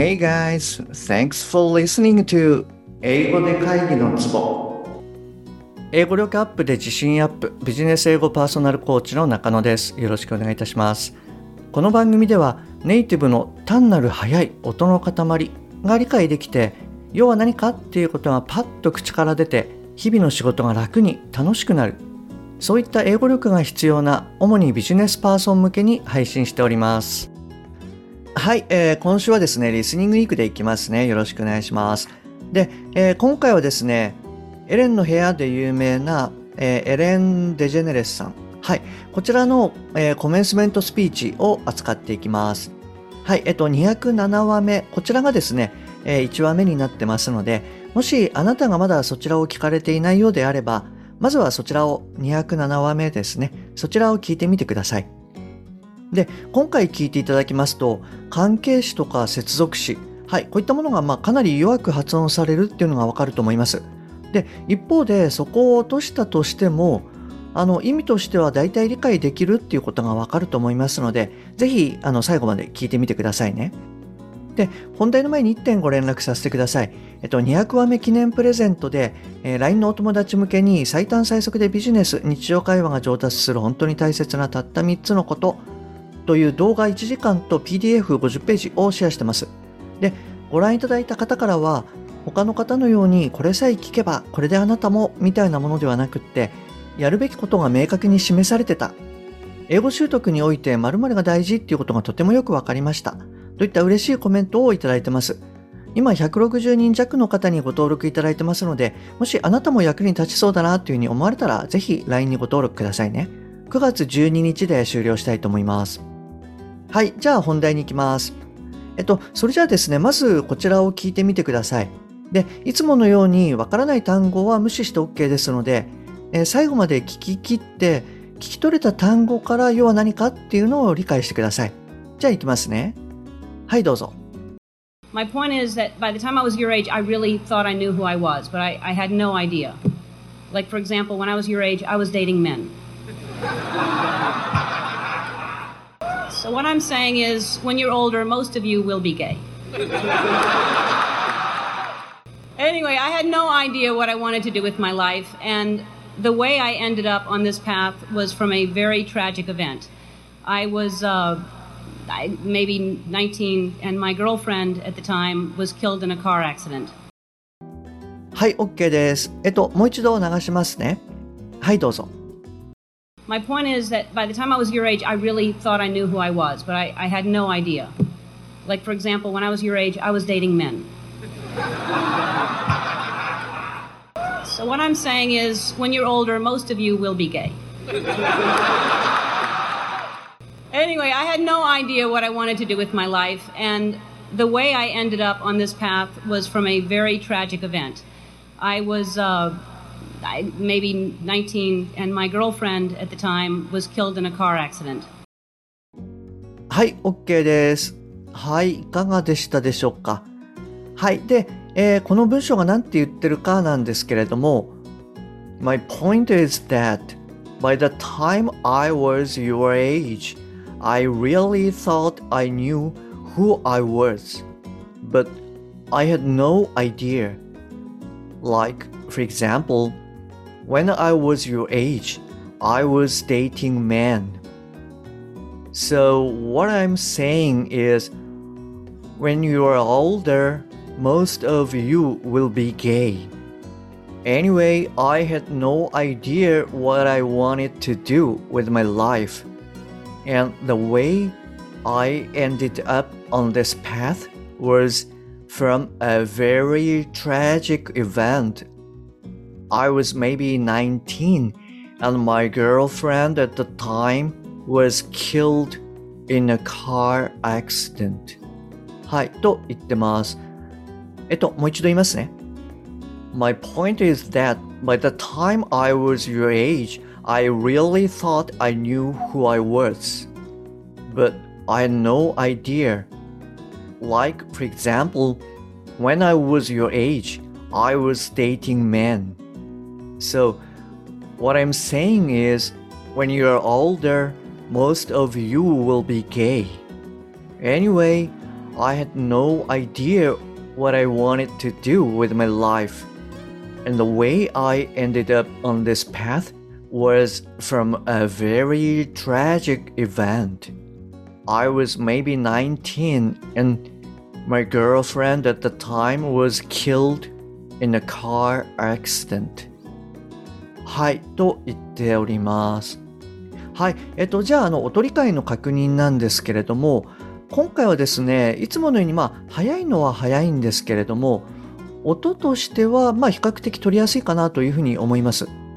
Hey guys, thanks for listening to 英語で会議のツボ。英語力アップで自信アップ、ビジネス英語パーソナルコーチの中野です。よろしくお願いいたします。この番組ではネイティブの単なる速い音の塊が理解できて、要は何かっていうことがパッと口から出て、日々の仕事が楽に楽しくなる。そういった英語力が必要な主にビジネスパーソン向けに配信しております。はい、今週はですね、リスニングウィークでいきますね。よろしくお願いします。で、今回はですね、エレンの部屋で有名な、エレン・デジェネレスさん。はい、こちらの、コメンスメントスピーチを扱っていきます。はい、207話目、こちらがですね、1話目になってますので、もしあなたがまだそちらを聞かれていないようであれば、まずはそちらを207話目ですね、そちらを聞いてみてください。で、今回聞いていただきますと、関係詞とか接続詞、はい、こういったものがかなり弱く発音されるっていうのがわかると思います。で、一方でそこを落としたとしても、意味としては大体理解できるっていうことがわかると思いますので、ぜひ最後まで聞いてみてくださいね。で、本題の前に1点ご連絡させてください。200話目記念プレゼントで、LINE のお友達向けに最短最速でビジネス、日常会話が上達する本当に大切なたった3つのことという動画1時間と PDF50 ページをシェアしてます。で、ご覧いただいた方からは、他の方のようにこれさえ聞けばこれであなたもみたいなものではなくって、やるべきことが明確に示されてた。英語習得において〇〇が大事っていうことがとてもよくわかりました。といった嬉しいコメントをいただいてます。今160人弱の方にご登録いただいてますので、もしあなたも役に立ちそうだなというふうに思われたら、ぜひ LINE にご登録くださいね。9月12日で終了したいと思います。はい、じゃあ本題に行きます。それじゃあですね、まずこちらを聞いてみてください。で、いつものようにわからない単語は無視して OK ですので、最後まで聞き切って、聞き取れた単語から要は何かっていうのを理解してください。じゃあ行きますね。はい、どうぞ。 My point is that by the time I was your age, I really thought I knew who I was, but I had no idea. Like, for example, when I was your age, I was dating men. So what I'm saying is, when you're older, most of you will be gay. Anyway, I had no idea what I wanted to do with my life, and the way I ended up on this path was from a very tragic event. I was maybe 19, and my girlfriend at the time was killed in a car accident. はい、OK です。もう一度流しますね。はい、どうぞ。 My point is that by the time I was your age, I really thought I knew who I was, but I had no idea. Like, for example, when I was your age, I was dating men. So what I'm saying is, when you're older, most of you will be gay. Anyway, I had no idea what I wanted to do with my life, and the way I ended up on this path was from a very tragic event. I was maybe 19, and my girlfriend at the time was killed in a car accident. はい、OK です。はい、いかがでしたでしょうか。はい、で、この文章が何て言ってるかなんですけれども、My point is that by the time I was your age, I really thought I knew who I was, but I had no idea. Like, for example, when I was your age, I was dating men. So what I'm saying is, when you are older, most of you will be gay. Anyway, I had no idea what I wanted to do with my life. And the way I ended up on this path was from a very tragic event. I was maybe 19, and my girlfriend at the time was killed in a car accident. はい、と言ってます。もう一度言いますね。My point is that by the time I was your age, I really thought I knew who I was. But I had no idea. Like, for example, when I was your age, I was dating men. So, what I'm saying is, when you're older, most of you will be gay. Anyway, I had no idea what I wanted to do with my life. And the way I ended up on this path was from a very tragic event. I was maybe 19 and my girlfriend at the time was killed in a car accident. はい、と言っております。はい、じゃあ、お取り替えの確認なんですけれども、今回はですね、いつものように早いのは早いんですけれども、音としては比較的取りやすいかなというふうに思います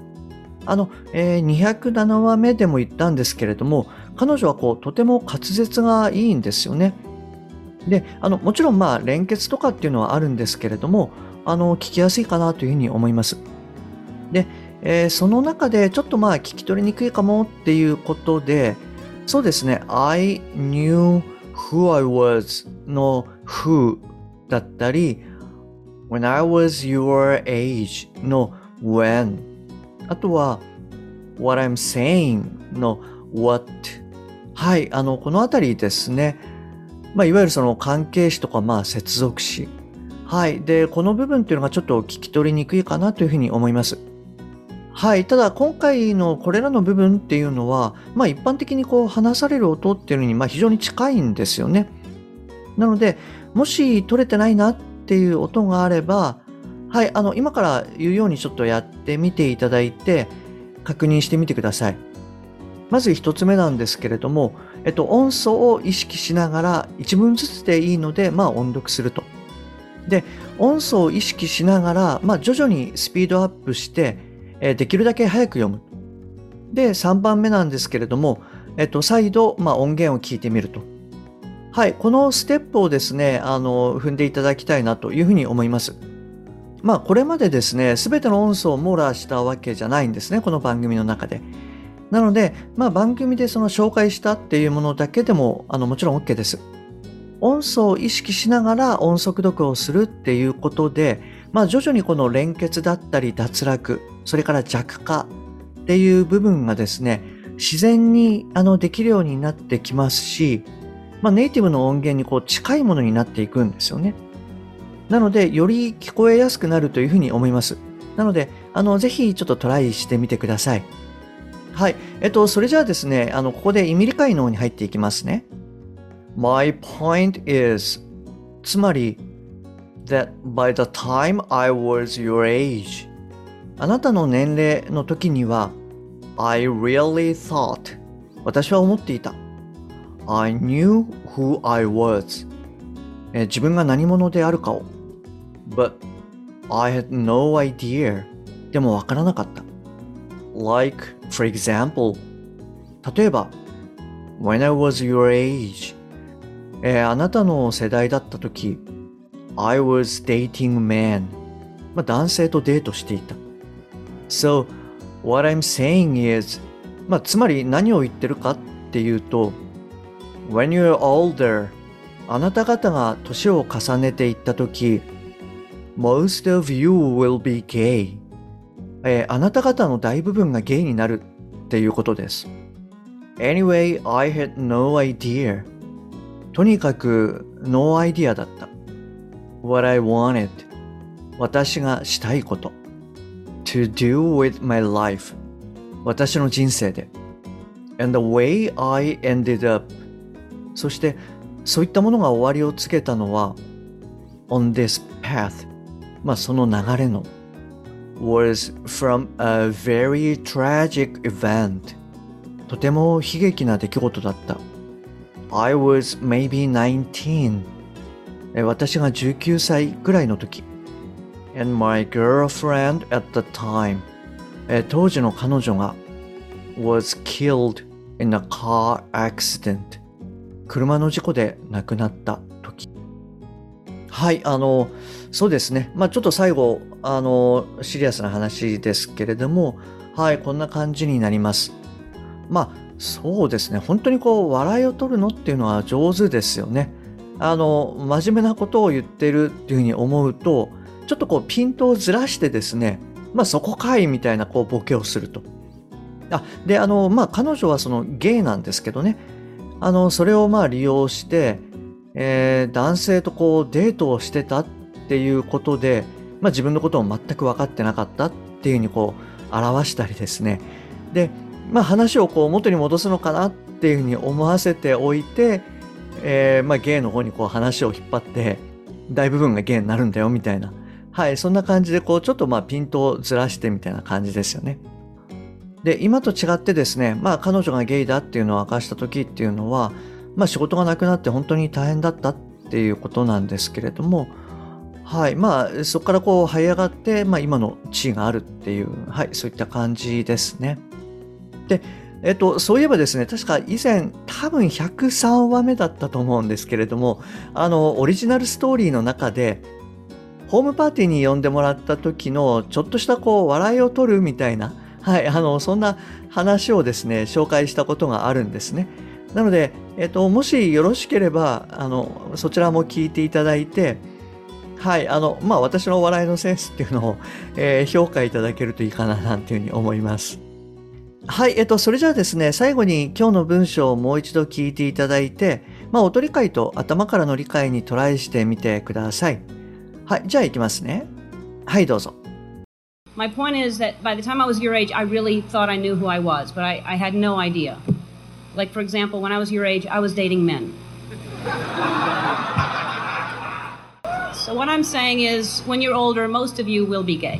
。207話目でも言ったんですけれども、彼女はとても滑舌がいいんですよね。で、もちろん連結とかっていうのはあるんですけれども、聞きやすいかなというふうに思います。で、その中でちょっと聞き取りにくいかもっていうことで、そうですね、I knew who I was の who だったり、when I was your age の when、あとは what I'm saying の what。はい、このあたりですね。いわゆるその関係詞とか接続詞。はい。で、この部分っていうのがちょっと聞き取りにくいかなというふうに思います。はい。ただ、今回のこれらの部分っていうのは、一般的に話される音っていうのに非常に近いんですよね。なので、もし取れてないなっていう音があれば、はい。今から言うようにちょっとやってみていただいて、確認してみてください。まず一つ目なんですけれども、音素を意識しながら一文ずつでいいので、音読すると。で、音素を意識しながら、徐々にスピードアップして、できるだけ早く読む。で、3番目なんですけれども、再度、音源を聞いてみると。はい、このステップをですね、踏んでいただきたいなというふうに思います。これまでですね、すべての音素を網羅したわけじゃないんですね、この番組の中で。なので、番組でその紹介したっていうものだけでも、もちろん OK です。音素を意識しながら音速読をするっていうことで、徐々にこの連結だったり脱落、それから弱化っていう部分がですね、自然にできるようになってきますし、ネイティブの音源に近いものになっていくんですよね。なので、より聞こえやすくなるというふうに思います。なので、ぜひちょっとトライしてみてください。はい。それじゃあですね、ここで意味理解の方に入っていきますね。My point is つまり that by the time I was your age あなたの年齢の時には I really thought 私は思っていた I knew who I was 自分が何者であるかを But I had no idea でもわからなかった Like for example 例えば When I was your ageあなたの世代だったとき、I was dating men. 男性とデートしていた。So, what I'm saying is, つまり何を言ってるかっていうと、When you're older, あなた方が年を重ねていったとき、Most of you will be gay. あなた方の大部分がゲイになるっていうことです。Anyway, I had no idea.とにかくノーアイディアだった。What I wanted 私がしたいこと To do with my life 私の人生で And the way I ended up そしてそういったものが終わりを告げたのは On this path その流れの Was from a very tragic event とても悲劇な出来事だった。I was maybe 19. 私が19歳くらいの時。And my girlfriend at the time. 当時の彼女が was killed in a car accident. 車の事故で亡くなった時。はい、そうですね。ちょっと最後、シリアスな話ですけれども、はい、こんな感じになります。そうですね。本当に笑いを取るのっていうのは上手ですよね。真面目なことを言ってるっていうふうに思うと、ちょっとピントをずらしてですね、そこかいみたいなボケをすると。で、彼女はそのゲイなんですけどね、それを利用して、 男性とこうデートをしてたっていうことで、自分のことを全く分かってなかったっていうふうにこう表したりですね。で、話をこう元に戻すのかなっていうふうに思わせておいて、ゲイの方にこう話を引っ張って大部分がゲイになるんだよみたいな、そんな感じでこうちょっとピントをずらしてみたいな感じですよね。で、今と違ってですね、彼女がゲイだっていうのを明かした時っていうのは、仕事がなくなって本当に大変だったっていうことなんですけれども、そこからこう這い上がって、今の地位があるっていう、そういった感じですね。で、そういえばですね、確か以前多分103話目だったと思うんですけれども、オリジナルストーリーの中でホームパーティーに呼んでもらった時のちょっとしたこう笑いを取るみたいな、そんな話をですね紹介したことがあるんですね。なので、もしよろしければそちらも聞いていただいて、私の笑いのセンスっていうのを、評価いただけるといいかななんていうふうに思います。それじゃあですね、最後に今日の文章をもう一度聞いていただいて、音理解と頭からの理解にトライしてみてください。じゃあいきますね。どうぞ。 My point is that by the time I was your age, I really thought I knew who I was, but I had no idea. Like, for example, when I was your age, I was dating men. So what I'm saying is, when you're older, most of you will be gay.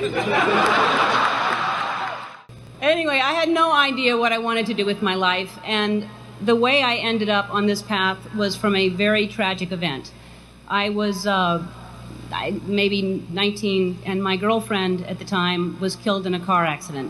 Anyway, I had no idea what I wanted to do with my life, and the way I ended up on this path was from a very tragic event. I was maybe 19, and my girlfriend at the time was killed in a car accident.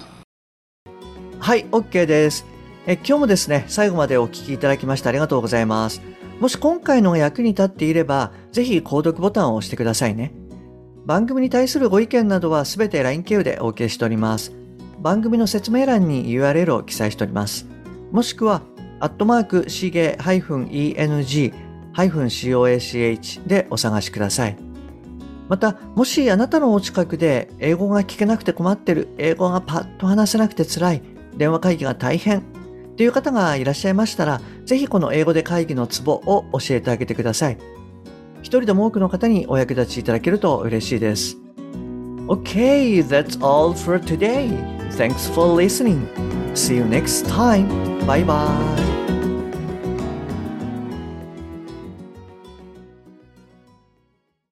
OK です。今日もですね、最後までお聞きいただきましてありがとうございます。もし今回のが役に立っていれば、ぜひ購読ボタンを押してくださいね。番組に対するご意見などはすべて LINE 経由でお受けしております。番組の説明欄に URL を記載しております。もしくは、@shige-eng-coach でお探しください。また、もしあなたのお近くで英語が聞けなくて困ってる、英語がパッと話せなくて辛い、電話会議が大変っていう方がいらっしゃいましたら、ぜひこの英語で会議のツボを教えてあげてください。一人でも多くの方にお役立ちいただけると嬉しいです。Okay, that's all for today. Thanks for listening. See you next time. Bye bye.